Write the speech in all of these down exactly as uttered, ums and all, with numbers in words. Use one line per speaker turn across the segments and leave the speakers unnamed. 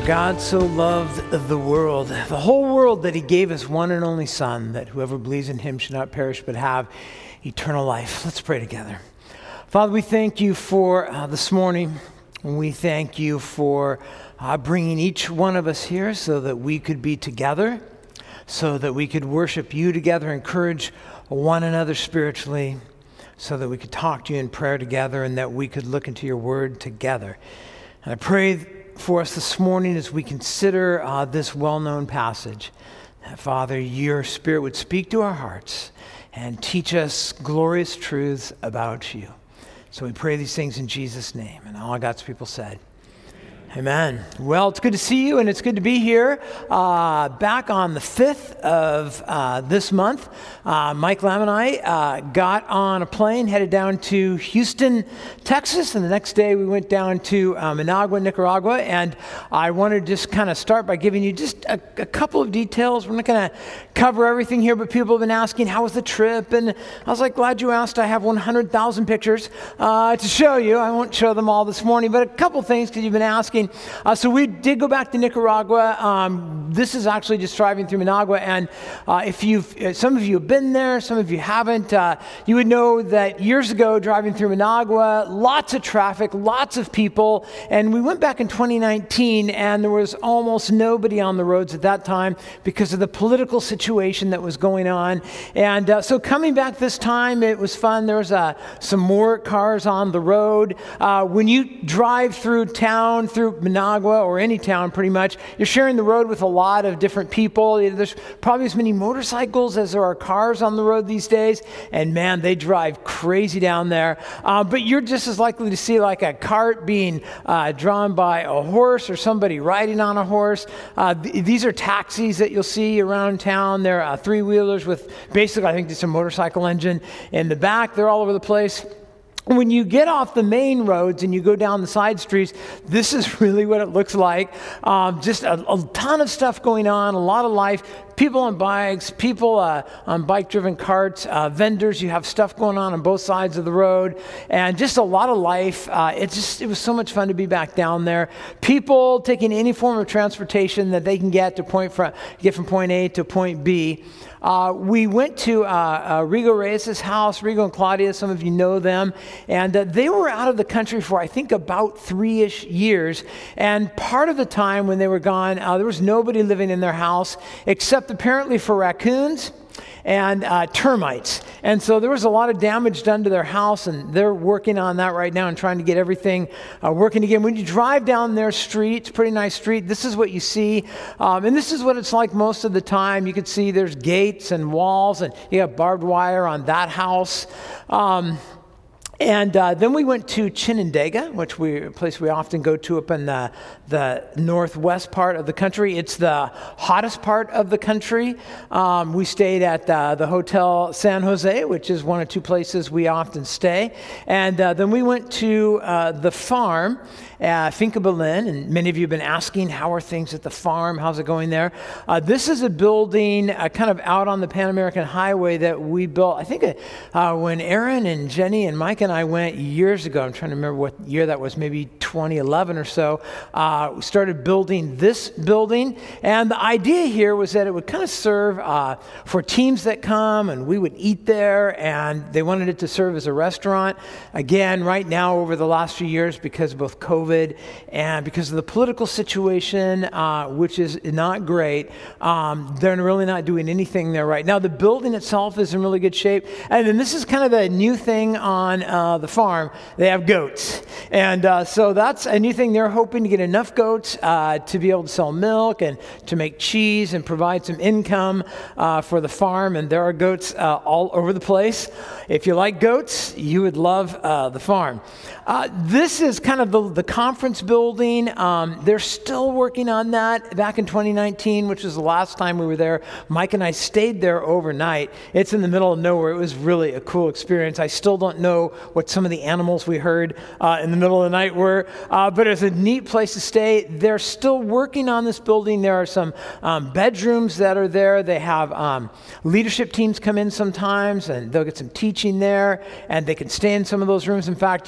God so loved the world, the whole world, that he gave his one and only Son, that whoever believes in him should not perish but have eternal life. Let's pray together. Father, we thank you for uh, this morning. We thank you for uh, bringing each one of us here so that we could be together, so that we could worship you together, encourage one another spiritually, so that we could talk to you in prayer together, and that we could look into your word together. And I pray for us this morning as we consider uh, this well-known passage, that, Father, your Spirit would speak to our hearts and teach us glorious truths about you. So we pray these things in Jesus' name. And all God's people said, amen. Well, it's good to see you, and it's good to be here. Uh, back on the fifth of uh, this month, uh, Mike Lamb and I uh, got on a plane, headed down to Houston, Texas, and the next day we went down to uh, Managua, Nicaragua, and I wanted to just kind of start by giving you just a, a couple of details. We're not going to cover everything here, but people have been asking, how was the trip? And I was like, glad you asked. I have one hundred thousand pictures uh, to show you. I won't show them all this morning, but a couple things because you've been asking. Uh, so we did go back to Nicaragua. Um, this is actually just driving through Managua, and uh, if you've, uh, some of you have been there, some of you haven't, uh, you would know that years ago, driving through Managua, lots of traffic, lots of people, and we went back in twenty nineteen, and there was almost nobody on the roads at that time because of the political situation that was going on. And uh, so coming back this time, it was fun. There was uh, some more cars on the road. Uh, when you drive through town, through Managua or any town pretty much, you're sharing the road with a lot of different people. There's probably as many motorcycles as there are cars on the road these days, and man, they drive crazy down there. Uh, but you're just as likely to see like a cart being uh, drawn by a horse or somebody riding on a horse. Uh, th- these are taxis that you'll see around town. They're uh, three-wheelers with basically, I think, just a motorcycle engine in the back. They're all over the place. When you get off the main roads and you go down the side streets, this is really what it looks like. Um, just a, a ton of stuff going on, a lot of life. People on bikes, people uh, on bike-driven carts, uh, vendors. You have stuff going on on both sides of the road, and just a lot of life. Uh, it just it was so much fun to be back down there. People taking any form of transportation that they can get to point from get from point A to point B. Uh, we went to uh, uh, Rigo Reyes' house, Rigo and Claudia, some of you know them, and uh, they were out of the country for, I think, about three-ish years, and part of the time when they were gone, uh, there was nobody living in their house, except apparently for raccoons and uh, termites. And so there was a lot of damage done to their house, and they're working on that right now and trying to get everything uh, working again. When you drive down their street, it's a pretty nice street, this is what you see. Um, and this is what it's like most of the time. You can see there's gates and walls, and you have barbed wire on that house. Um, And uh, then we went to Chinandega, which we a place we often go to up in the, the northwest part of the country. It's the hottest part of the country. Um, we stayed at uh, the Hotel San Jose, which is one or two places we often stay. And uh, then we went to uh, the farm, uh, Finca Berlin, and many of you have been asking, how are things at the farm? How's it going there? Uh, this is a building uh, kind of out on the Pan American Highway that we built, I think uh, when Aaron and Jenny and Mike and I went years ago. I'm trying to remember what year that was, maybe twenty eleven or so. Uh, we started building this building, and the idea here was that it would kind of serve uh, for teams that come, and we would eat there, and they wanted it to serve as a restaurant. Again, right now, over the last few years, because of both COVID and because of the political situation, uh, which is not great, um, they're really not doing anything there right now. The building itself is in really good shape, and then this is kind of a new thing on uh, the farm. They have goats, and uh, so that's a new thing. They're hoping to get enough goats uh, to be able to sell milk and to make cheese and provide some income uh, for the farm, and there are goats uh, all over the place. If you like goats, you would love uh, the farm. Uh, this is kind of the, the conference building. Um, they're still working on that. Back in twenty nineteen, which was the last time we were there, Mike and I stayed there overnight. It's in the middle of nowhere. It was really a cool experience. I still don't know what some of the animals we heard uh, in the middle of the night were, uh, but it's a neat place to stay. They're still working on this building. There are some um, bedrooms that are there. They have um, leadership teams come in sometimes, and they'll get some teaching there, and they can stay in some of those rooms. In fact, you can see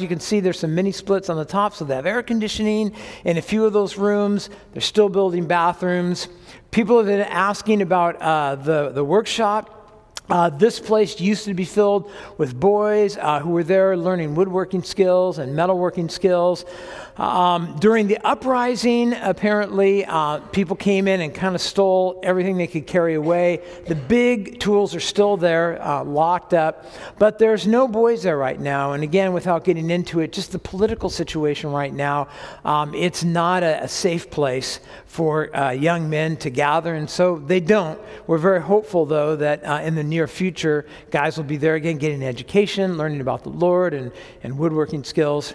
there's some mini splits on the top, so they have air conditioning in a few of those rooms. They're still building bathrooms. People have been asking about uh, the, the workshop. Uh, this place used to be filled with boys uh, who were there learning woodworking skills and metalworking skills. Um, during the uprising, apparently, uh, people came in and kind of stole everything they could carry away. The big tools are still there, uh, locked up, but there's no boys there right now. And again, without getting into it, just the political situation right now, um, it's not a, a safe place for uh, young men to gather, and so they don't. We're very hopeful, though, that uh, in the near future, guys will be there again, getting an education, learning about the Lord and, and woodworking skills.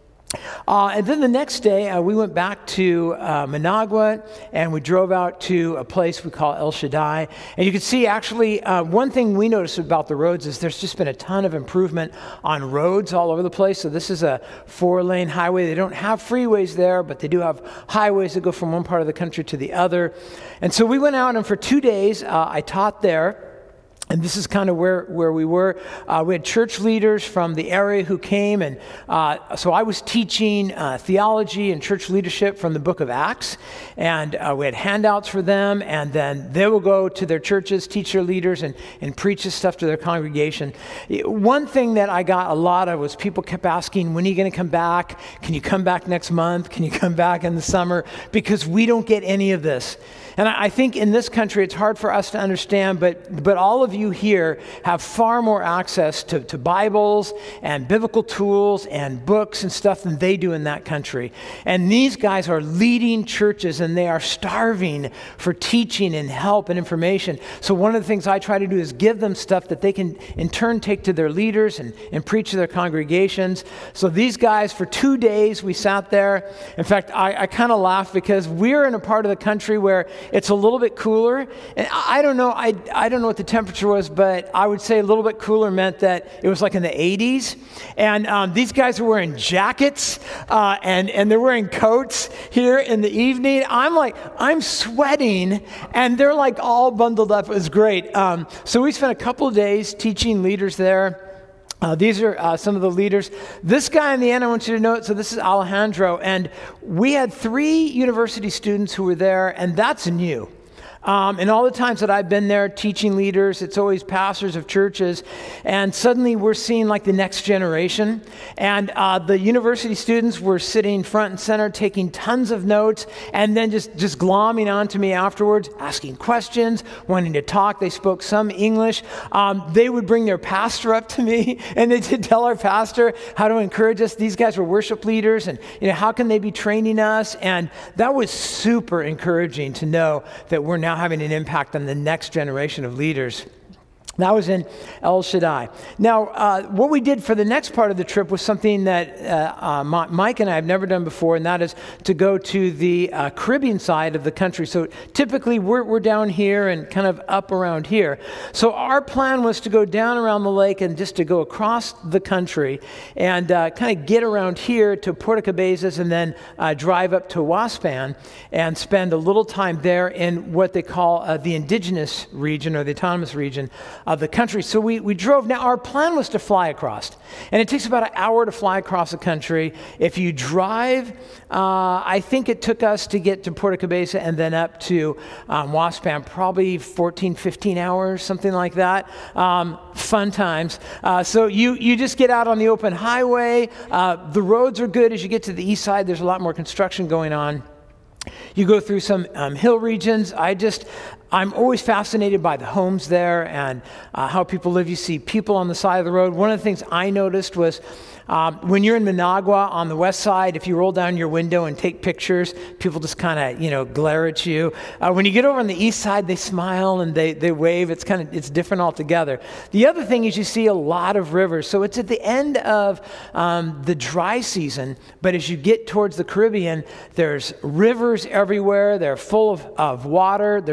Uh, and then the next day, uh, we went back to uh, Managua, and we drove out to a place we call El Shaddai. And you can see, actually, uh, one thing we noticed about the roads is there's just been a ton of improvement on roads all over the place. So this is a four-lane highway. They don't have freeways there, but they do have highways that go from one part of the country to the other. And so we went out, and for two days, uh, I taught there. And this is kind of where, where we were. Uh, we had church leaders from the area who came. And uh, so I was teaching uh, theology and church leadership from the book of Acts. And uh, we had handouts for them. And then they will go to their churches, teach their leaders, and, and preach this stuff to their congregation. One thing that I got a lot of was people kept asking, when are you going to come back? Can you come back next month? Can you come back in the summer? Because we don't get any of this. And I think in this country, it's hard for us to understand, but but all of you here have far more access to, to Bibles and biblical tools and books and stuff than they do in that country. And these guys are leading churches, and they are starving for teaching and help and information. So one of the things I try to do is give them stuff that they can in turn take to their leaders and, and preach to their congregations. So these guys, for two days, we sat there. In fact, I, I kind of laugh because we're in a part of the country where it's a little bit cooler. And I don't know, I, I don't know what the temperature was, but I would say a little bit cooler meant that it was like in the eighties. And um, these guys are wearing jackets uh, and, and they're wearing coats here in the evening. I'm like, I'm sweating, and they're like all bundled up. It was great. Um, so we spent a couple of days teaching leaders there. Uh, these are uh, some of the leaders. This guy in the end, I want you to note, so this is Alejandro, and we had three university students who were there, and that's new. Um, and all the times that I've been there teaching leaders, it's always pastors of churches, and suddenly we're seeing like the next generation. And uh, the university students were sitting front and center, taking tons of notes, and then just, just glomming onto me afterwards, asking questions, wanting to talk. They spoke some English. Um, they would bring their pastor up to me, and they did tell our pastor how to encourage us. These guys were worship leaders, and you know, how can they be training us? And that was super encouraging to know that we're now having an impact on the next generation of leaders. That was in El Shaddai. Now, uh, what we did for the next part of the trip was something that uh, uh, Mike and I have never done before, and that is to go to the uh, Caribbean side of the country. So typically, we're, we're down here and kind of up around here. So our plan was to go down around the lake and just to go across the country and uh, kind of get around here to Puerto Cabezas and then uh, drive up to Waspan and spend a little time there in what they call uh, the indigenous region or the autonomous region of the country. So we, we drove. Now, our plan was to fly across. And it takes about an hour to fly across the country. If you drive, uh, I think it took us to get to Puerto Cabeza and then up to um, Waspan, probably fourteen, fifteen hours, something like that. Um, fun times. Uh, so you, you just get out on the open highway. Uh, the roads are good. As you get to the east side, there's a lot more construction going on. You go through some um, hill regions. I just, I'm always fascinated by the homes there and uh, how people live. You see people on the side of the road. One of the things I noticed was um, when you're in Managua on the west side, if you roll down your window and take pictures, people just kind of, you know, glare at you. Uh, when you get over on the east side, they smile and they, they wave. It's kind of, it's different altogether. The other thing is you see a lot of rivers. So it's at the end of um, the dry season, but as you get towards the Caribbean, there's rivers everywhere. They're full of, of water. There's life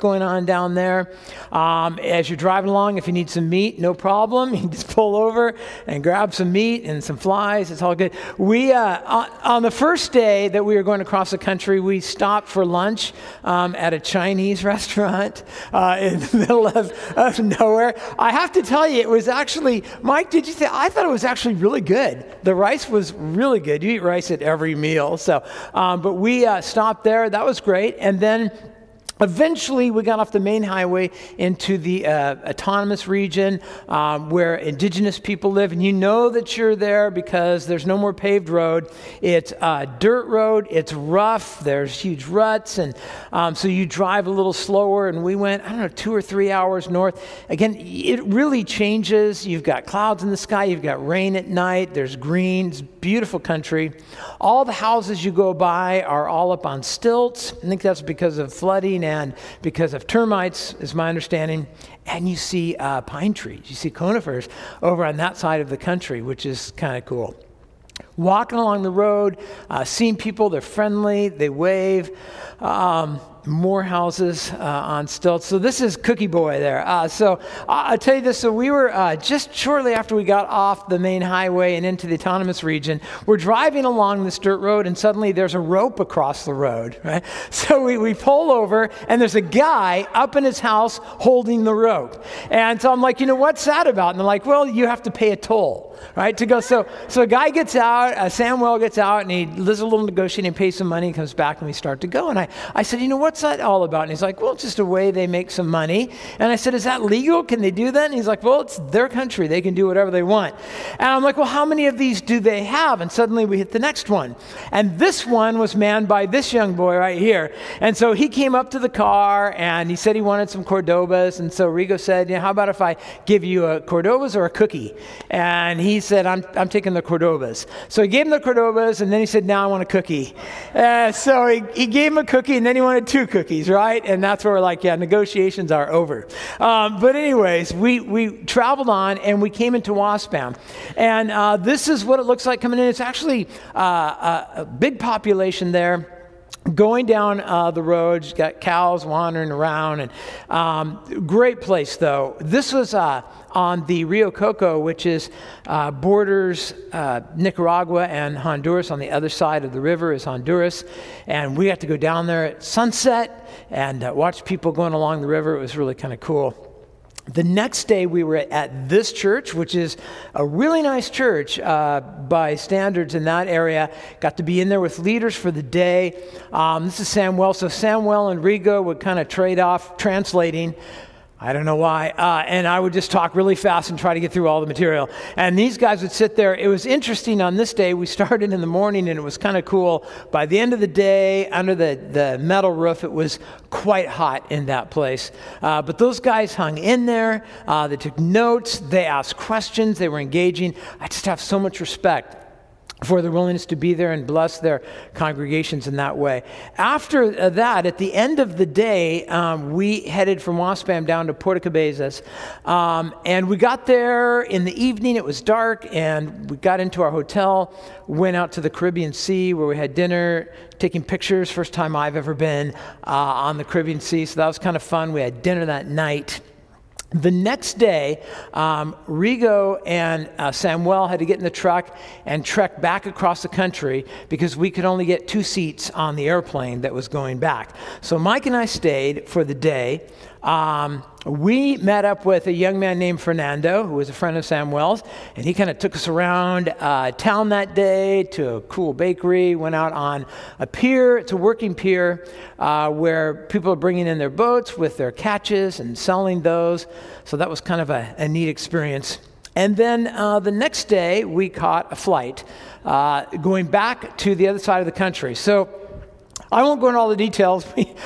going on down there. Um, as you're driving along, if you need some meat, no problem. You can just pull over and grab some meat and some flies. It's all good. We uh, on, on the first day that we were going across the country, we stopped for lunch um, at a Chinese restaurant uh, in the middle of, of nowhere. I have to tell you, it was actually, Mike, did you think? I thought it was actually really good. The rice was really good. You eat rice at every meal. So, um, but we uh, stopped there. That was great. And then eventually, we got off the main highway into the uh, autonomous region um, where indigenous people live. And you know that you're there because there's no more paved road. It's a dirt road. It's rough. There's huge ruts. And um, so you drive a little slower. And we went, I don't know, two or three hours north. Again, it really changes. You've got clouds in the sky. You've got rain at night. There's green. It's beautiful country. All the houses you go by are all up on stilts. I think that's because of flooding and because of termites, is my understanding. And you see uh, pine trees. You see conifers over on that side of the country, which is kind of cool. Walking along the road, uh, seeing people, they're friendly, they wave. Um, more houses uh, on stilts. So this is Cookie Boy there. Uh, so I'll tell you this. So we were uh, just shortly after we got off the main highway and into the autonomous region, we're driving along this dirt road and suddenly there's a rope across the road, right? So we, we pull over and there's a guy up in his house holding the rope. And so I'm like, you know, what's that about? And they're like, well, you have to pay a toll, right, to go. So so a guy gets out, uh, Samuel gets out and he does a little negotiating, pays some money, comes back and we start to go. And I, I said, you know, what's that all about? And he's like, well, it's just a way they make some money. And I said, is that legal? Can they do that? And he's like, well, it's their country. They can do whatever they want. And I'm like, well, how many of these do they have? And suddenly we hit the next one. And this one was manned by this young boy right here. And so he came up to the car and he said he wanted some Cordobas. And so Rigo said, you know, how about if I give you a Cordobas or a cookie? And he said, I'm, I'm taking the Cordobas. So he gave him the Cordobas and then he said, now I want a cookie. Uh, so he, he gave him a cookie and then he wanted two cookies, right? And that's where we're like, yeah, negotiations are over. Um, but anyways, we, we traveled on and we came into Waspam. And uh, this is what it looks like coming in. It's actually uh, a, a big population there. Going down uh, the road, you've got cows wandering around, and um, great place though. This was uh, on the Rio Coco, which is uh, borders uh, Nicaragua and Honduras. On the other side of the river is Honduras, and we got to go down there at sunset and uh, watch people going along the river. It was really kind of cool. The next day we were at this church, which is a really nice church uh, by standards in that area. Got to be in there with leaders for the day. Um, this is Samuel. So Samuel and Rigo would kind of trade off translating. I don't know why. Uh, and I would just talk really fast and try to get through all the material. And these guys would sit there. It was interesting on this day. We started in the morning and it was kind of cool. By the end of the day, under the, the metal roof, it was quite hot in that place. Uh, but those guys hung in there. Uh, they took notes. They asked questions. They were engaging. I just have so much respect for their willingness to be there and bless their congregations in that way. After that, at the end of the day, um, we headed from Waspam down to Puerto Cabezas. Um, and we got there in the evening. It was dark, and we got into our hotel, went out to the Caribbean Sea where we had dinner, taking pictures. First time I've ever been uh, on the Caribbean Sea, so that was kind of fun. We had dinner that night. The next day, um, Rigo and uh, Samuel had to get in the truck and trek back across the country because we could only get two seats on the airplane that was going back. So Mike and I stayed for the day. Um, we met up with a young man named Fernando, who was a friend of Samuel's, and he kind of took us around uh, town that day to a cool bakery, went out on a pier. It's a working pier uh, where people are bringing in their boats with their catches and selling those. So that was kind of a, a neat experience. And then uh, the next day, we caught a flight uh, going back to the other side of the country. So I won't go into all the details.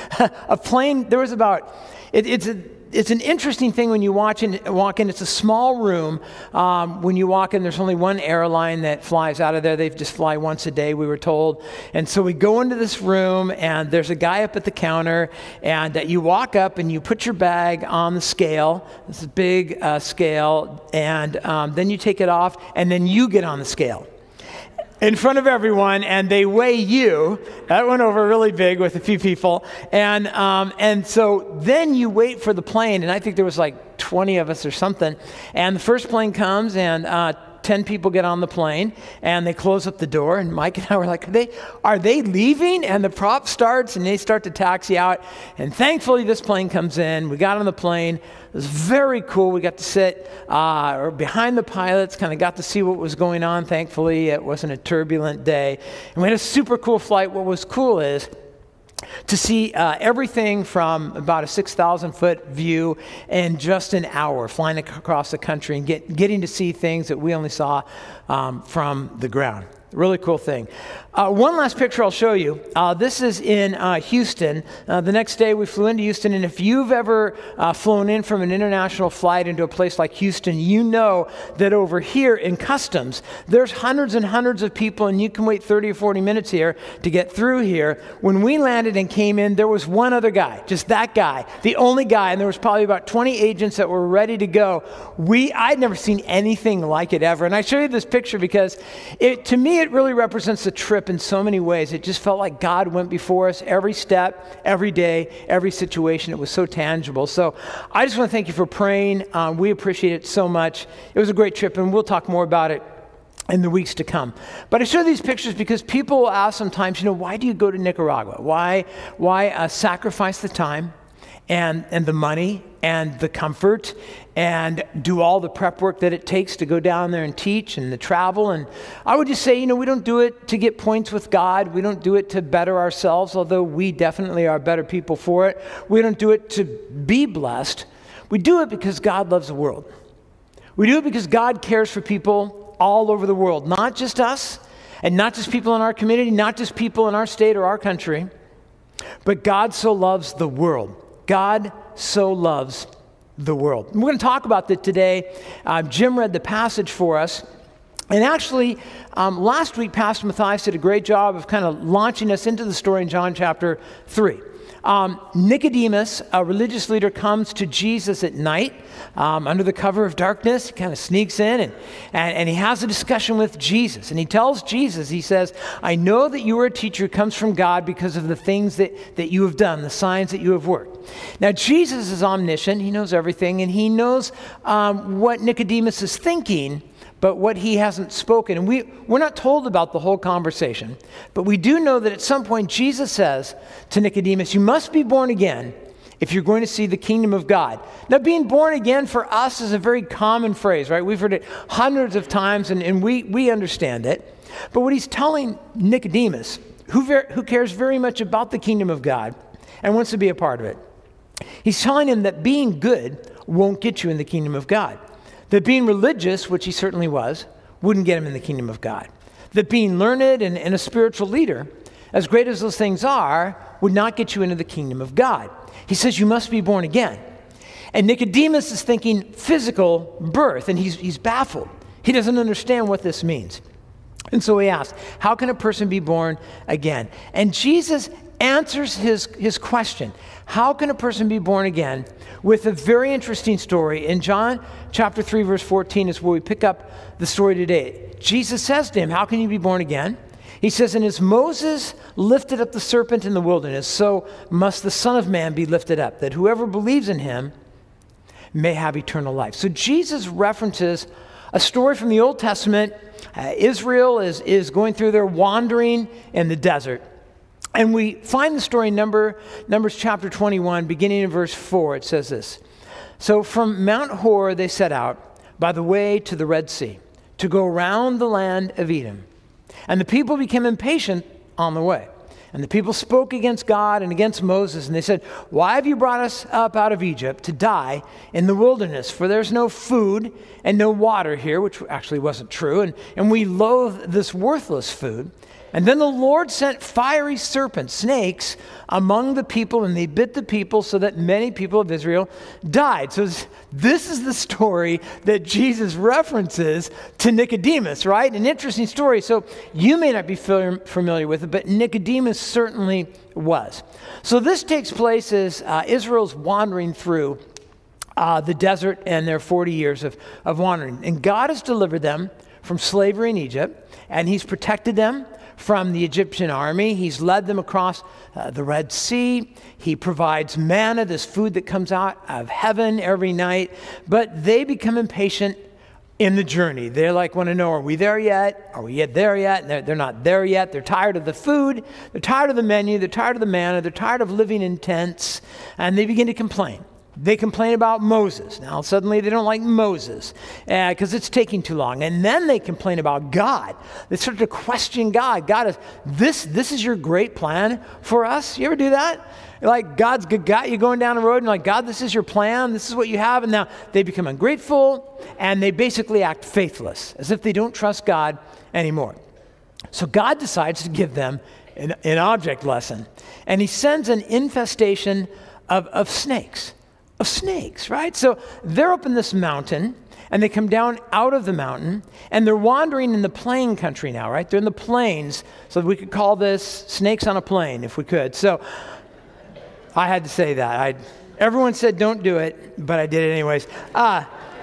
A plane, there was about, it, it's a, It's an interesting thing when you watch in, walk in. It's a small room. Um, when you walk in, there's only one airline that flies out of there. They just fly once a day, we were told. And so we go into this room, and there's a guy up at the counter, and uh, you walk up, and you put your bag on the scale. This is a big uh, scale, and um, then you take it off, and then you get on the scale. in front of everyone, and they weigh you. That went over really big with a few people. And um, and so then you wait for the plane, and I think there was like twenty of us or something. And the first plane comes, and uh, ten people get on the plane, and they close up the door, and Mike and I were like, are they, are they leaving? And the prop starts, and they start to taxi out. And thankfully, this plane comes in. We got on the plane. It was very cool. We got to sit uh, or behind the pilots, kind of got to see what was going on. Thankfully, it wasn't a turbulent day. And we had a super cool flight. What was cool is to see uh, everything from about a six thousand foot view in just an hour, flying ac- across the country and get, getting to see things that we only saw um, from the ground. Really cool thing. Uh, one last picture I'll show you. Uh, this is in uh, Houston. Uh, the next day we flew into Houston, and if you've ever uh, flown in from an international flight into a place like Houston, you know that over here in customs, there's hundreds and hundreds of people, and you can wait thirty or forty minutes here to get through here. When we landed and came in, there was one other guy, just that guy, the only guy, and there was probably about twenty agents that were ready to go. We, I'd never seen anything like it ever, and I show you this picture because it, to me, it really represents the trip in so many ways. It just felt like God went before us every step, every day, every situation. It was so tangible. So I just want to thank you for praying. Um, we appreciate it so much. It was a great trip, and we'll talk more about it in the weeks to come. But I show these pictures because people will ask sometimes, you know, why do you go to Nicaragua? Why, why uh, sacrifice the time and, and the money and the comfort and do all the prep work that it takes to go down there and teach and the travel? And I would just say, you know, we don't do it to get points with God. We don't do it to better ourselves, although we definitely are better people for it. We don't do it to be blessed. We do it because God loves the world. We do it because God cares for people all over the world, not just us and not just people in our community, not just people in our state or our country, but God so loves the world. God so loves the world. And we're going to talk about that today. Uh, Jim read the passage for us. And actually, um, last week, Pastor Matthias did a great job of kind of launching us into the story in John chapter three. Um, Nicodemus, a religious leader, comes to Jesus at night um, under the cover of darkness. He kind of sneaks in and, and, and he has a discussion with Jesus. And he tells Jesus, he says, I know that you are a teacher who comes from God because of the things that, that you have done, the signs that you have worked. Now, Jesus is omniscient. He knows everything, and he knows um, what Nicodemus is thinking, but what he hasn't spoken. And we, we're not told about the whole conversation, but we do know that at some point Jesus says to Nicodemus, you must be born again if you're going to see the kingdom of God. Now, being born again for us is a very common phrase, right? We've heard it hundreds of times, and, and we, we understand it. But what he's telling Nicodemus, who, ver- who cares very much about the kingdom of God and wants to be a part of it, he's telling him that being good won't get you in the kingdom of God. That being religious, which he certainly was, wouldn't get him in the kingdom of God. That being learned and, and a spiritual leader, as great as those things are, would not get you into the kingdom of God. He says you must be born again. And Nicodemus is thinking physical birth, and he's, he's baffled. He doesn't understand what this means. And so he asks, how can a person be born again? And Jesus answers his, his question, how can a person be born again, with a very interesting story. In John chapter three, verse fourteen is where we pick up the story today. Jesus says to him, how can you be born again? He says, and as Moses lifted up the serpent in the wilderness, so must the Son of Man be lifted up, that whoever believes in him may have eternal life. So Jesus references a story from the Old Testament. Uh, Israel is, is going through their wandering in the desert. And we find the story in Number, Numbers chapter twenty-one, beginning in verse four. It says this. So from Mount Hor they set out by the way to the Red Sea to go around the land of Edom. And the people became impatient on the way. And the people spoke against God and against Moses. And they said, why have you brought us up out of Egypt to die in the wilderness? For there's no food and no water here, which actually wasn't true. And, and we loathe this worthless food. And then the Lord sent fiery serpents, snakes, among the people, and they bit the people so that many people of Israel died. So this is the story that Jesus references to Nicodemus, right? An interesting story. So you may not be familiar with it, but Nicodemus certainly was. So this takes place as uh, Israel's wandering through uh, the desert and their forty years of, of wandering. And God has delivered them from slavery in Egypt, and he's protected them from the Egyptian army. He's led them across uh, the Red Sea. He provides manna, this food that comes out of heaven every night. But they become impatient in the journey. They like want to know, are we there yet? Are we yet there yet? And they're, they're not there yet. They're tired of the food. They're tired of the menu. They're tired of the manna. They're tired of living in tents. And they begin to complain. They complain about Moses. Now, suddenly they don't like Moses because uh, it's taking too long. And then they complain about God. They start to question God. God, is this this is your great plan for us? You ever do that? Like, God's got you going down the road and like, God, this is your plan. This is what you have. And now they become ungrateful and they basically act faithless, as if they don't trust God anymore. So God decides to give them an, an object lesson. And he sends an infestation of, of snakes. Of snakes, right? So they're up in this mountain, and they come down out of the mountain, and they're wandering in the plain country now, right? They're in the plains, so we could call this snakes on a plane if we could. So I had to say that. I, everyone said don't do it, but I did it anyways. Uh,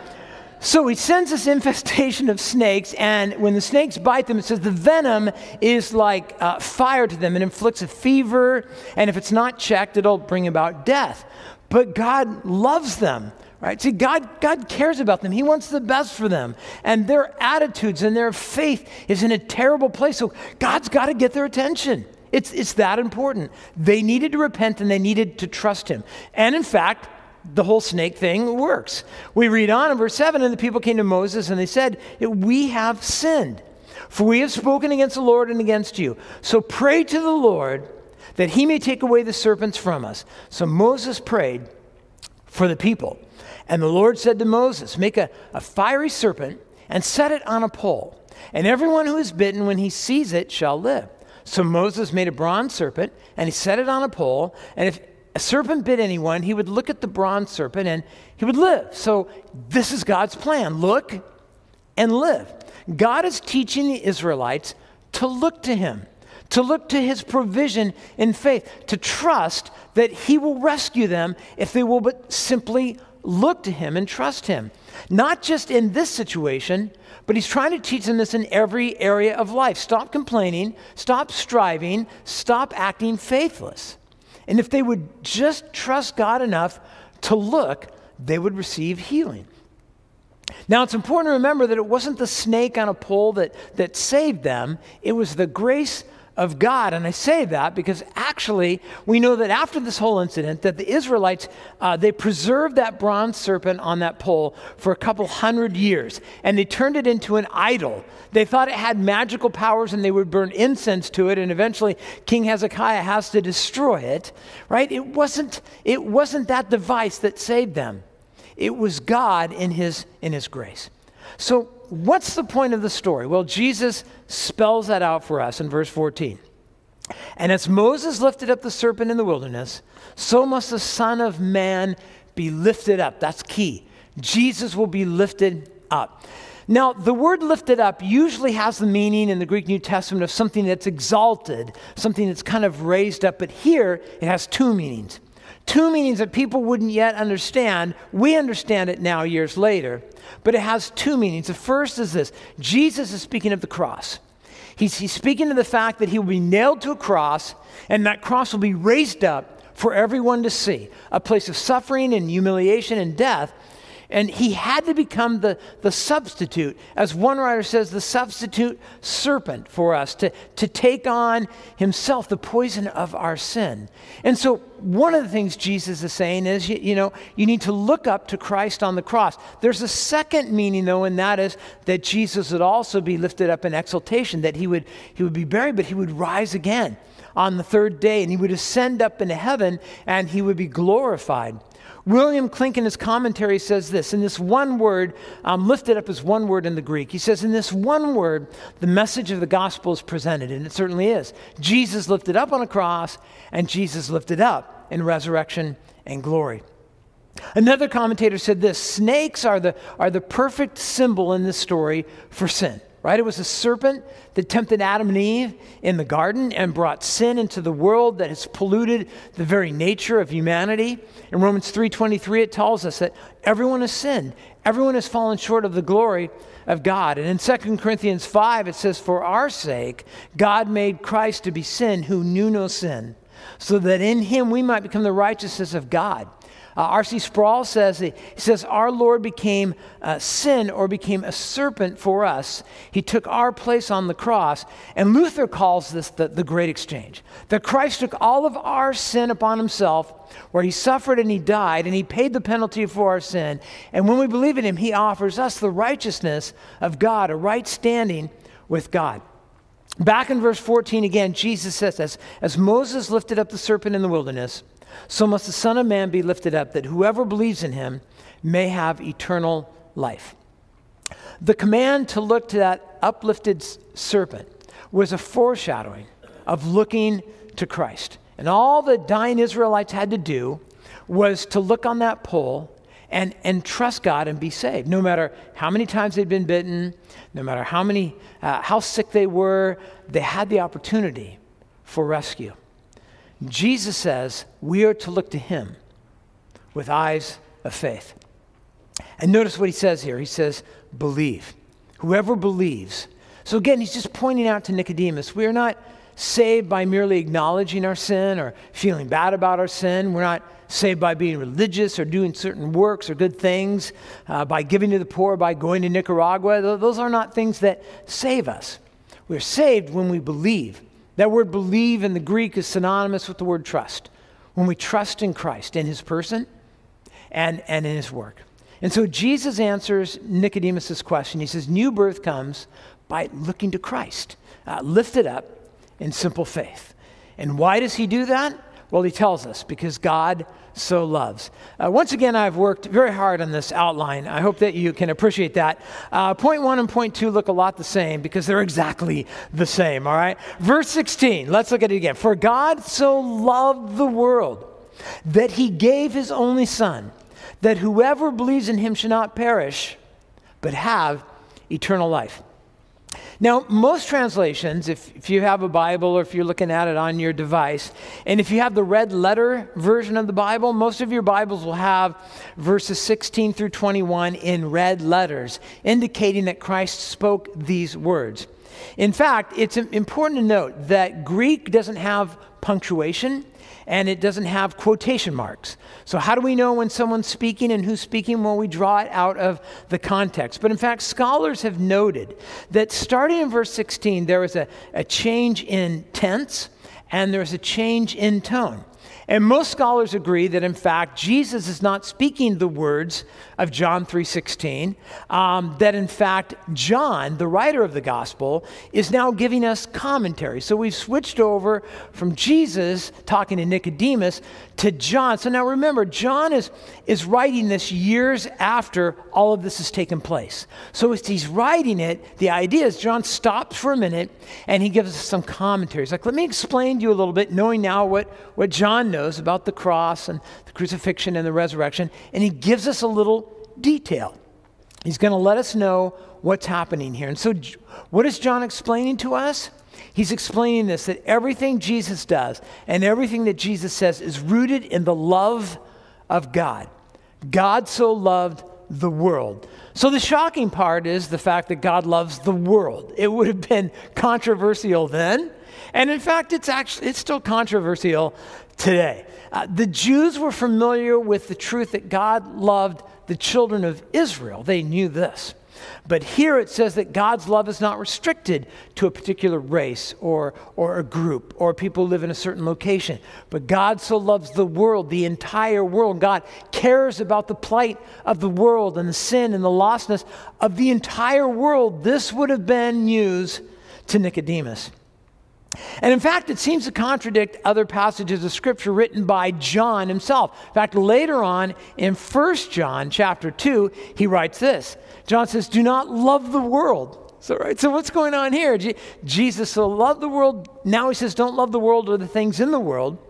so he sends this infestation of snakes, and when the snakes bite them, it says the venom is like uh, fire to them. It inflicts a fever, and if it's not checked, it'll bring about death. But God loves them, right? See, God, God cares about them. He wants the best for them. And their attitudes and their faith is in a terrible place. So God's got to get their attention. It's, it's that important. They needed to repent and they needed to trust him. And in fact, the whole snake thing works. We read on in verse seven, and the people came to Moses and they said, we have sinned, for we have spoken against the Lord and against you. So pray to the Lord that he may take away the serpents from us. So Moses prayed for the people. And the Lord said to Moses, make a, a fiery serpent and set it on a pole. And everyone who is bitten when he sees it shall live. So Moses made a bronze serpent and he set it on a pole. And if a serpent bit anyone, he would look at the bronze serpent and he would live. So this is God's plan. Look and live. God is teaching the Israelites to look to him, to look to his provision in faith, to trust that he will rescue them if they will but simply look to him and trust him. Not just in this situation, but he's trying to teach them this in every area of life. Stop complaining, stop striving, stop acting faithless. And if they would just trust God enough to look, they would receive healing. Now, it's important to remember that it wasn't the snake on a pole that, that saved them. It was the grace of God. And I say that because actually we know that after this whole incident that the Israelites, uh, they preserved that bronze serpent on that pole for a couple hundred years, and they turned it into an idol. They thought it had magical powers and they would burn incense to it, and eventually King Hezekiah has to destroy it, right? It wasn't, it wasn't that device that saved them. It was God in his, in his grace. So what's the point of the story? Well, Jesus spells that out for us in verse fourteen. And as Moses lifted up the serpent in the wilderness, so must the Son of Man be lifted up. That's key. Jesus will be lifted up. Now, the word lifted up usually has the meaning in the Greek New Testament of something that's exalted, something that's kind of raised up. But here, it has two meanings. Two meanings that people wouldn't yet understand. We understand it now years later, but it has two meanings. The first is this. Jesus is speaking of the cross. He's, he's speaking of the fact that he will be nailed to a cross, and that cross will be raised up for everyone to see, a place of suffering and humiliation and death. And he had to become the, the substitute, as one writer says, the substitute serpent for us, to, to take on himself the poison of our sin. And so one of the things Jesus is saying is, you, you know, you need to look up to Christ on the cross. There's a second meaning, though, and that is that Jesus would also be lifted up in exaltation, that he would, he would be buried, but he would rise again on the third day, and he would ascend up into heaven, and he would be glorified. William Clink in his commentary says this, in this one word, um, lifted up as one word in the Greek. He says, in this one word, the message of the gospel is presented, and it certainly is. Jesus lifted up on a cross, and Jesus lifted up in resurrection and glory. Another commentator said this, snakes are the, are the perfect symbol in this story for sin. right? It was a serpent that tempted Adam and Eve in the garden and brought sin into the world that has polluted the very nature of humanity. In Romans three twenty-three, it tells us that everyone has sinned. Everyone has fallen short of the glory of God. And in Second Corinthians five, it says, for our sake, God made Christ to be sin who knew no sin, so that in him we might become the righteousness of God. Uh, R C Sproul says, he says, our Lord became uh, sin or became a serpent for us. He took our place on the cross. And Luther calls this the, the great exchange. That Christ took all of our sin upon himself, where he suffered and he died, and he paid the penalty for our sin. And when we believe in him, he offers us the righteousness of God, a right standing with God. Back in verse fourteen again, Jesus says this, as Moses lifted up the serpent in the wilderness, so must the Son of Man be lifted up, that whoever believes in him may have eternal life. The command to look to that uplifted serpent was a foreshadowing of looking to Christ. And all the dying Israelites had to do was to look on that pole and, and trust God and be saved. No matter how many times they'd been bitten, no matter how many, uh, how sick they were, they had the opportunity for rescue. Jesus says we are to look to him with eyes of faith. And notice what he says here. He says, believe. Whoever believes. So again, he's just pointing out to Nicodemus, we are not saved by merely acknowledging our sin or feeling bad about our sin. We're not saved by being religious or doing certain works or good things, uh, by giving to the poor, by going to Nicaragua. Those are not things that save us. We're saved when we believe. That word believe in the Greek is synonymous with the word trust. When we trust in Christ, in his person and, and in his work. And so Jesus answers Nicodemus' question. He says, new birth comes by looking to Christ, uh, lifted up in simple faith. And why does he do that? Well, he tells us, because God so loves. Uh, once again, I've worked very hard on this outline. I hope that you can appreciate that. Uh, point one and point two look a lot the same because they're exactly the same, all right? Verse sixteen, let's look at it again. For God so loved the world that he gave his only Son, that whoever believes in him should not perish, but have eternal life. Now, most translations, if, if you have a Bible or if you're looking at it on your device, and if you have the red letter version of the Bible, most of your Bibles will have verses sixteen through twenty-one in red letters, indicating that Christ spoke these words. In fact, it's important to note that Greek doesn't have punctuation, and it doesn't have quotation marks. So how do we know when someone's speaking and who's speaking? Well, we draw it out of the context. But in fact, scholars have noted that starting in verse sixteen, there was a, a change in tense and there's a change in tone. And most scholars agree that, in fact, Jesus is not speaking the words of John three sixteen, um, that, in fact, John, the writer of the gospel, is now giving us commentary. So we've switched over from Jesus talking to Nicodemus to John. So now remember, John is, is writing this years after all of this has taken place. So as he's writing it, the idea is John stops for a minute and he gives us some commentary. He's like, let me explain to you a little bit, knowing now what, what John knows about the cross and the crucifixion and the resurrection, and he gives us a little detail. He's going to let us know what's happening here. And so what is John explaining to us? He's explaining this, that everything Jesus does and everything that Jesus says is rooted in the love of God. God so loved the world. So the shocking part is the fact that God loves the world. It would have been controversial then. And in fact, it's actually, it's still controversial today. Uh, the Jews were familiar with the truth that God loved the children of Israel. They knew this. But here it says that God's love is not restricted to a particular race or, or a group or people who live in a certain location. But God so loves the world, the entire world. God cares about the plight of the world and the sin and the lostness of the entire world. This would have been news to Nicodemus. And in fact, it seems to contradict other passages of Scripture written by John himself. In fact, later on in First John chapter two, he writes this. John says, do not love the world. So, right, so what's going on here? Je- Jesus so loved the world. Now he says, don't love the world or the things in the world.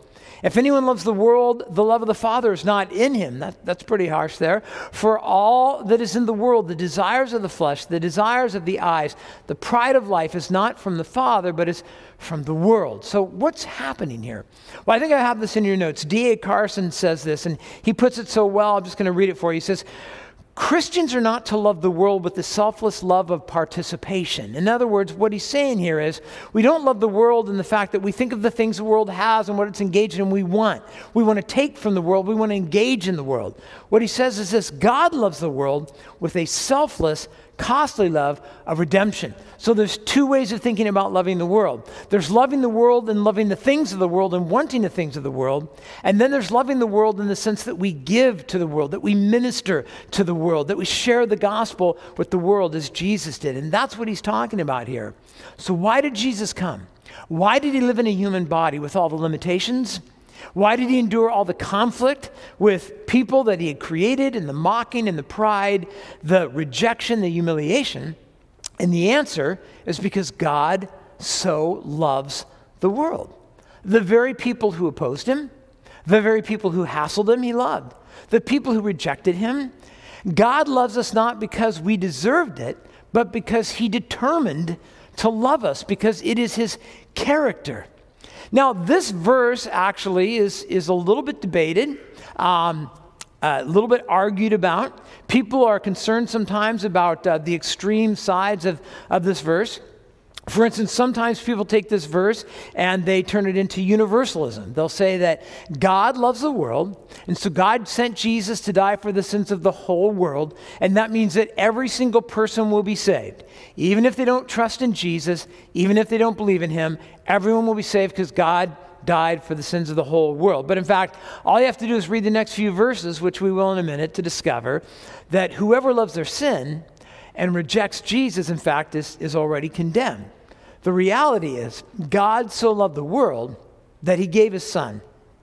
If anyone loves the world, the love of the Father is not in him. That, that's pretty harsh there. For all that is in the world, the desires of the flesh, the desires of the eyes, the pride of life is not from the Father, but is from the world. So what's happening here? Well, I think I have this in your notes. D A Carson says this, and he puts it so well, I'm just going to read it for you. He says, Christians are not to love the world with the selfless love of participation. In other words, what he's saying here is we don't love the world in the fact that we think of the things the world has and what it's engaged in we want. We want to take from the world. We want to engage in the world. What he says is this: God loves the world with a selfless, costly love of redemption. So there's two ways of thinking about loving the world. There's loving the world and loving the things of the world and wanting the things of the world. And then there's loving the world in the sense that we give to the world, that we minister to the world, that we share the gospel with the world as Jesus did. And that's what he's talking about here. So why did Jesus come? Why did he live in a human body with all the limitations? Why did he endure all the conflict with people that he had created, and the mocking and the pride, the rejection, the humiliation? And the answer is because God so loves the world. The very people who opposed him, the very people who hassled him, he loved. The people who rejected him. God loves us not because we deserved it, but because he determined to love us, because it is his character. Now, this verse actually is, is a little bit debated, um, a little bit argued about. People are concerned sometimes about uh, the extreme sides of, of this verse. For instance, sometimes people take this verse and they turn it into universalism. They'll say that God loves the world, and so God sent Jesus to die for the sins of the whole world, and that means that every single person will be saved. Even if they don't trust in Jesus, even if they don't believe in him, everyone will be saved because God died for the sins of the whole world. But in fact, all you have to do is read the next few verses, which we will in a minute, to discover that whoever loves their sin and rejects Jesus, in fact, is, is already condemned. The reality is, God so loved the world that he gave his son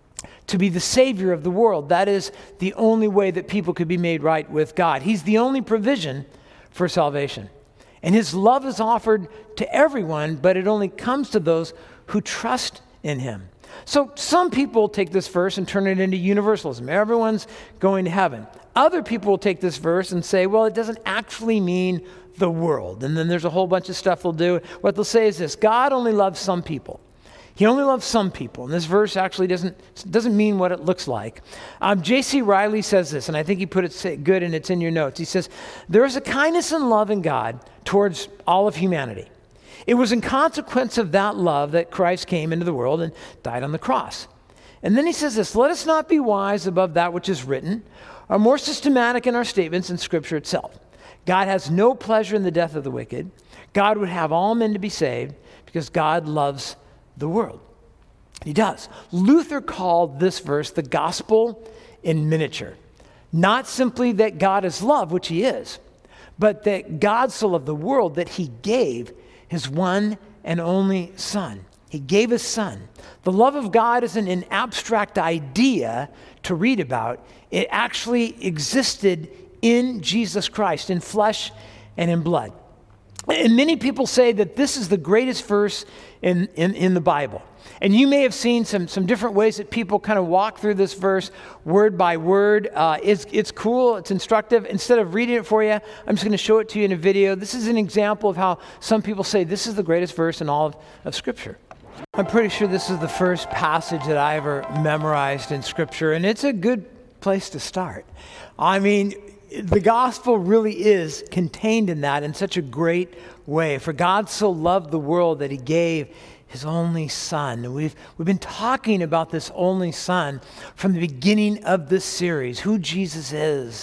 to be the Savior of the world. That is the only way that people could be made right with God. He's the only provision for salvation. And his love is offered to everyone, but it only comes to those who trust in him. So some people take this verse and turn it into universalism. Everyone's going to heaven. Other people will take this verse and say, well, it doesn't actually mean the world. And then there's a whole bunch of stuff they'll do. What they'll say is this: God only loves some people. He only loves some people. And this verse actually doesn't, doesn't mean what it looks like. Um, J C Riley says this, and I think he put it good, and it's in your notes. He says, there is a kindness and love in God towards all of humanity. It was in consequence of that love that Christ came into the world and died on the cross. And then he says this: let us not be wise above that which is written, or more systematic in our statements in Scripture itself. God has no pleasure in the death of the wicked. God would have all men to be saved because God loves the world. He does. Luther called this verse the gospel in miniature. Not simply that God is love, which he is, but that God so loved the world that he gave his one and only son. He gave his son. The love of God isn't an abstract idea to read about. It actually existed in Jesus Christ, in flesh and in blood. And many people say that this is the greatest verse in, in, in the Bible. And you may have seen some, some different ways that people kind of walk through this verse word by word. Uh, it's, it's cool. It's instructive. Instead of reading it for you, I'm just going to show it to you in a video. This is an example of how some people say this is the greatest verse in all of, of Scripture. I'm pretty sure this is the first passage that I ever memorized in Scripture, and it's a good place to start. I mean, the gospel really is contained in that in such a great way. For God so loved the world that he gave his only son. And we've, we've been talking about this only son from the beginning of this series, who Jesus is.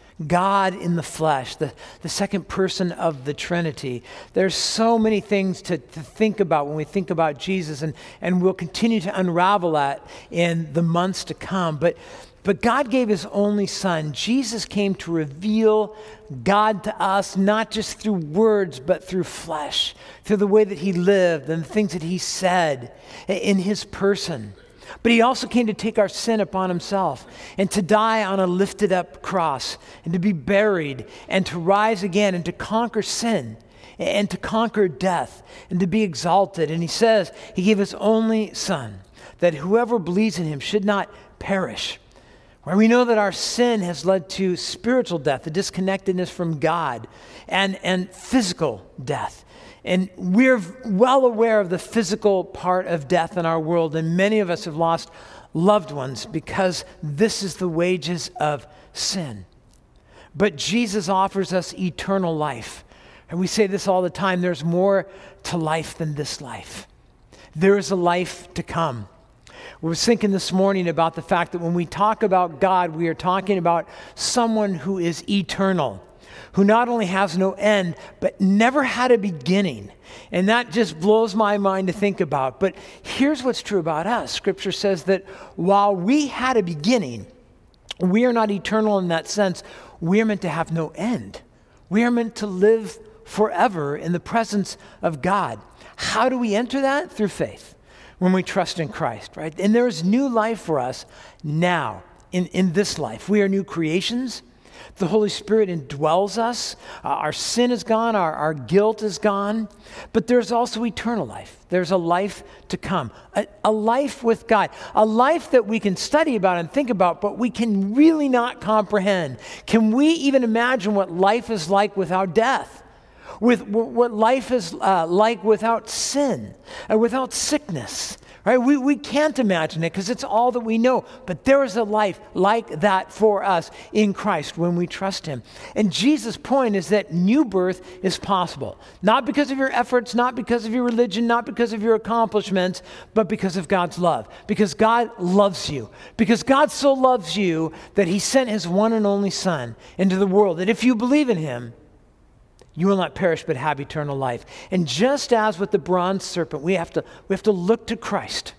God in the flesh, the, the second person of the Trinity. There's so many things to, to think about when we think about Jesus, and, and we'll continue to unravel that in the months to come. But But God gave his only son. Jesus came to reveal God to us, not just through words, but through flesh, through the way that he lived and the things that he said in his person. But he also came to take our sin upon himself and to die on a lifted up cross and to be buried and to rise again and to conquer sin and to conquer death and to be exalted. And he says he gave his only son. that whoever believes in him should not perish. Where we know that our sin has led to spiritual death, the disconnectedness from God, and, and physical death. And we're well aware of the physical part of death in our world, and many of us have lost loved ones because this is the wages of sin. But Jesus offers us eternal life. And we say this all the time, there's more to life than this life. There is a life to come. We were thinking this morning about the fact that when we talk about God, we are talking about someone who is eternal, who not only has no end, but never had a beginning. And that just blows my mind to think about. But here's what's true about us. Scripture says that while we had a beginning, we are not eternal in that sense. We are meant to have no end. We are meant to live forever in the presence of God. How do we enter that? Through faith. When we trust in Christ, right? And there is new life for us now, in, in this life. We are new creations. The Holy Spirit indwells us. Uh, our sin is gone. Our, our guilt is gone. But there's also eternal life. There's a life to come. A, a life with God. A life that we can study about and think about, but we can really not comprehend. Can we even imagine what life is like without death? With what life is uh, like without sin, uh, without sickness, right? We, we can't imagine it because it's all that we know. But there is a life like that for us in Christ when we trust him. And Jesus' point is that new birth is possible. Not because of your efforts, not because of your religion, not because of your accomplishments, but because of God's love. Because God loves you. Because God so loves you that he sent his one and only Son into the world. That if you believe in him, you will not perish but have eternal life. And just as with the bronze serpent, we have to, we have to look to Christ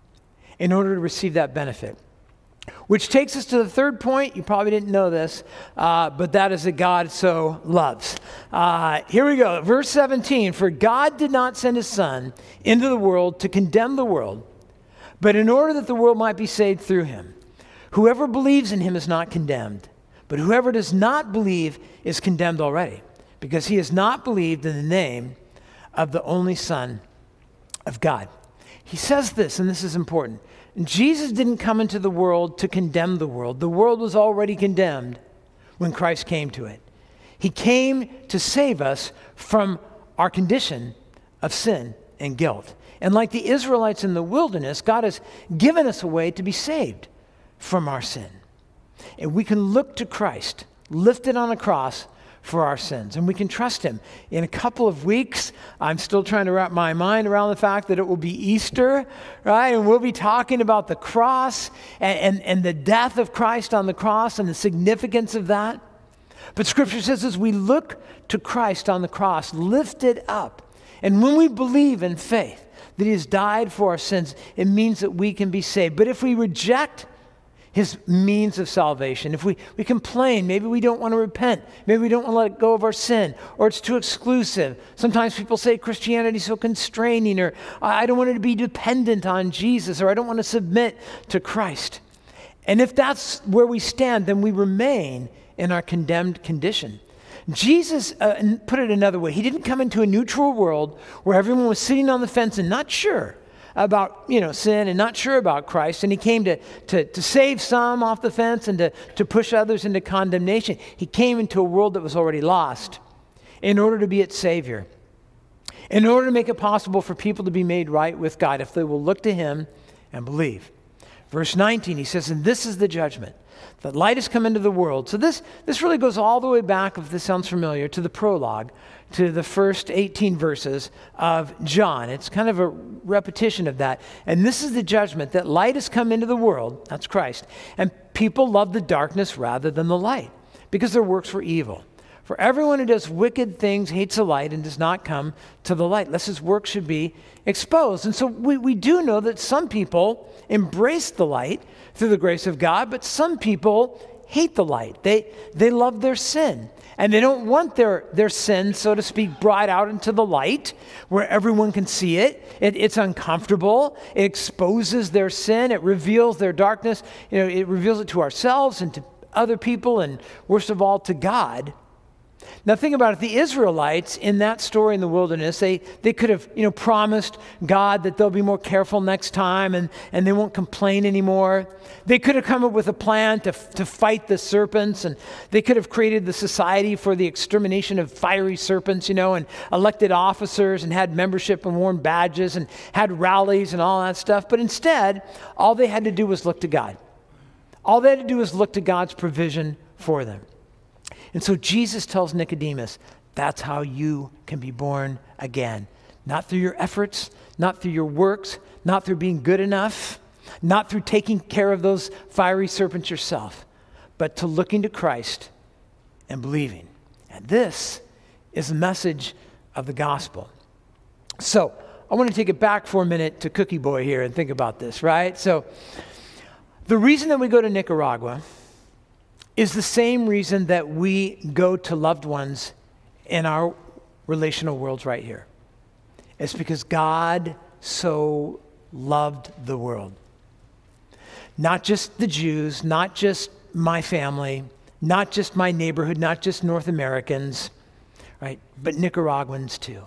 in order to receive that benefit. Which takes us to the third point. You probably didn't know this, uh, but that is that God so loves. Uh, here we go, verse seventeen. For God did not send his Son into the world to condemn the world, but in order that the world might be saved through him. Whoever believes in him is not condemned, but whoever does not believe is condemned already, because he has not believed in the name of the only Son of God. He says this, and this is important. Jesus didn't come into the world to condemn the world. The world was already condemned when Christ came to it. He came to save us from our condition of sin and guilt. And like the Israelites in the wilderness, God has given us a way to be saved from our sin. And we can look to Christ, lifted on a cross, for our sins, and we can trust him. In a couple of weeks, I'm still trying to wrap my mind around the fact that it will be Easter, right? And we'll be talking about the cross and, and, and the death of Christ on the cross and the significance of that. But Scripture says as we look to Christ on the cross, lifted up, and when we believe in faith that he has died for our sins, it means that we can be saved. But if we reject his means of salvation, if we, we complain, maybe we don't want to repent, maybe we don't want to let go of our sin, or it's too exclusive. Sometimes people say Christianity is so constraining, or I don't want to be dependent on Jesus, or I don't want to submit to Christ. And if that's where we stand, then we remain in our condemned condition. Jesus, uh, put it another way, he didn't come into a neutral world where everyone was sitting on the fence and not sure about, you know, sin and not sure about Christ. And he came to, to, to save some off the fence and to, to push others into condemnation. He came into a world that was already lost in order to be its Savior, in order to make it possible for people to be made right with God if they will look to him and believe. Verse nineteen, he says, and this is the judgment, that light has come into the world. So this, this really goes all the way back, if this sounds familiar, to the prologue, to the first eighteen verses of John. It's kind of a repetition of that. And this is the judgment, that light has come into the world, that's Christ, and people love the darkness rather than the light, because their works were evil. For everyone who does wicked things hates the light and does not come to the light, lest his work should be exposed. And so we, we do know that some people embrace the light through the grace of God, but some people hate the light. They, they love their sin. And they don't want their, their sin, so to speak, brought out into the light where everyone can see it. it. It's uncomfortable. It exposes their sin. It reveals their darkness. You know, it reveals it to ourselves and to other people, and worst of all, to God. Now think about it, the Israelites in that story in the wilderness, they, they could have, you know, promised God that they'll be more careful next time and, and they won't complain anymore. They could have come up with a plan to, to fight the serpents, and they could have created the society for the extermination of fiery serpents, you know, and elected officers and had membership and worn badges and had rallies and all that stuff. But instead, all they had to do was look to God. All they had to do was look to God's provision for them. And so Jesus tells Nicodemus, that's how you can be born again. Not through your efforts, not through your works, not through being good enough, not through taking care of those fiery serpents yourself, but to looking to Christ and believing. And this is the message of the gospel. So I want to take it back for a minute to Cookie Boy here and think about this, right? So the reason that we go to Nicaragua is the same reason that we go to loved ones in our relational worlds right here. It's because God so loved the world. Not just the Jews, not just my family, not just my neighborhood, not just North Americans, right? But Nicaraguans too.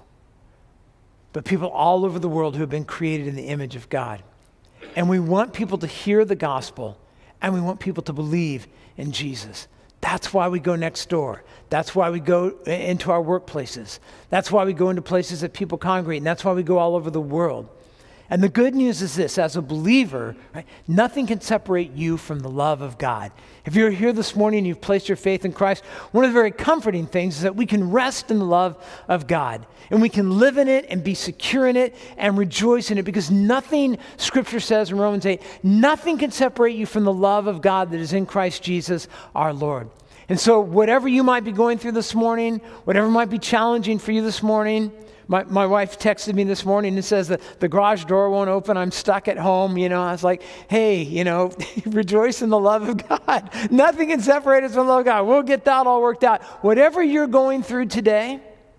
But people all over the world who have been created in the image of God. And we want people to hear the gospel, and we want people to believe in Jesus. That's why we go next door. That's why we go into our workplaces. That's why we go into places that people congregate, and that's why we go all over the world. And the good news is this, as a believer, right, nothing can separate you from the love of God. If you're here this morning and you've placed your faith in Christ, one of the very comforting things is that we can rest in the love of God. And we can live in it and be secure in it and rejoice in it, because nothing, Scripture says in Romans eight, nothing can separate you from the love of God that is in Christ Jesus our Lord. And so whatever you might be going through this morning, whatever might be challenging for you this morning, My my wife texted me this morning and says that the garage door won't open. I'm stuck at home. You know, I was like, hey, you know, rejoice in the love of God. Nothing can separate us from the love of God. We'll get that all worked out. Whatever you're going through today,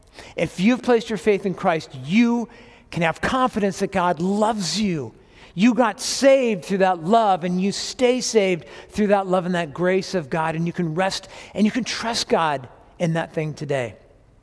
if you've placed your faith in Christ, you can have confidence that God loves you. You got saved through that love, and you stay saved through that love and that grace of God, and you can rest and you can trust God in that thing today.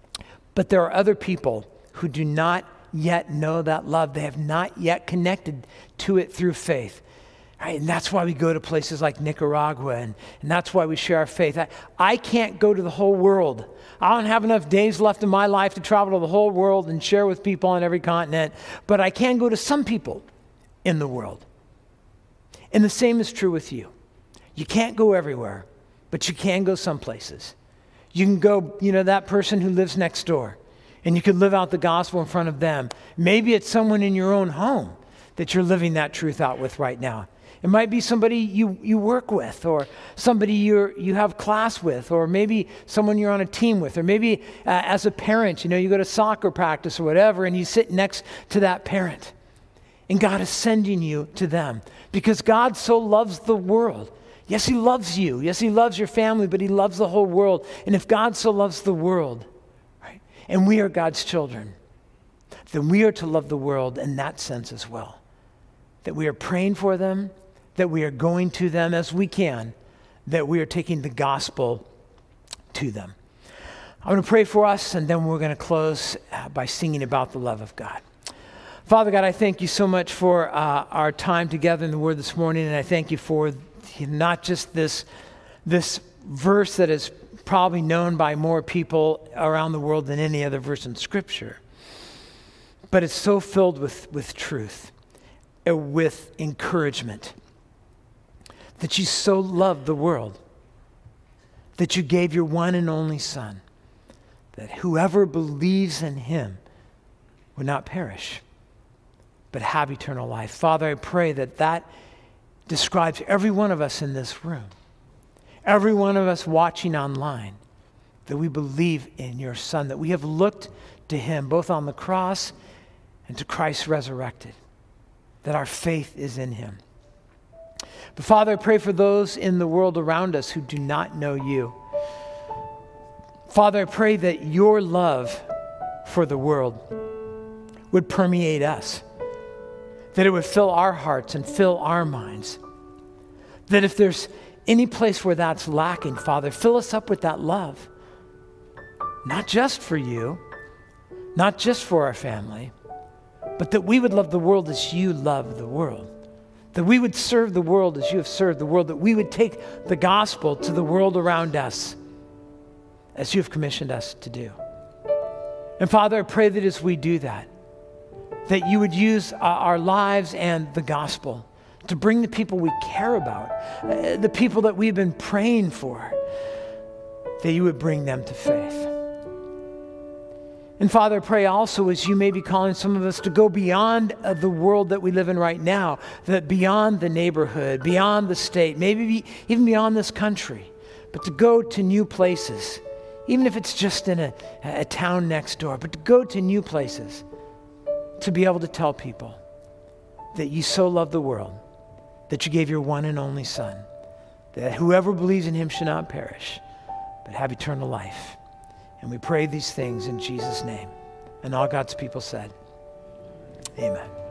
But there are other people who do not yet know that love. They have not yet connected to it through faith. Right? And that's why we go to places like Nicaragua, and, and that's why we share our faith. I, I can't go to the whole world. I don't have enough days left in my life to travel to the whole world and share with people on every continent, but I can go to some people in the world. And the same is true with you. You can't go everywhere, but you can go some places. You can go, you know, that person who lives next door, and you can live out the gospel in front of them. Maybe it's someone in your own home that you're living that truth out with right now. It might be somebody you, you work with, or somebody you're, you have class with, or maybe someone you're on a team with, or maybe uh, as a parent, you know, you go to soccer practice or whatever, and you sit next to that parent. And God is sending you to them because God so loves the world. Yes, he loves you. Yes, he loves your family, but he loves the whole world. And if God so loves the world, right, and we are God's children, then we are to love the world in that sense as well. That we are praying for them, that we are going to them as we can, that we are taking the gospel to them. I'm going to pray for us, and then we're going to close by singing about the love of God. Father God, I thank you so much for uh, our time together in the Word this morning, and I thank you for not just this, this verse that is probably known by more people around the world than any other verse in Scripture, but it's so filled with, with truth, uh, with encouragement, that you so loved the world, that you gave your one and only Son, that whoever believes in him would not perish, but have eternal life. Father, I pray that that describes every one of us in this room, every one of us watching online, that we believe in your Son, that we have looked to him both on the cross and to Christ resurrected, that our faith is in him. But Father, I pray for those in the world around us who do not know you. Father, I pray that your love for the world would permeate us, that it would fill our hearts and fill our minds. That if there's any place where that's lacking, Father, fill us up with that love. not just for you, not just for our family, but that we would love the world as you love the world. That we would serve the world as you have served the world. That we would take the gospel to the world around us as you have commissioned us to do. And Father, I pray that as we do that, that you would use uh, our lives and the gospel to bring the people we care about, uh, the people that we've been praying for, that you would bring them to faith. And Father, I pray also as you may be calling some of us to go beyond uh, the world that we live in right now, that beyond the neighborhood, beyond the state, maybe be, even beyond this country, but to go to new places, even if it's just in a, a town next door, but to go to new places, to be able to tell people that you so love the world, that you gave your one and only Son, that whoever believes in him should not perish, but have eternal life. And we pray these things in Jesus' name. And all God's people said, amen.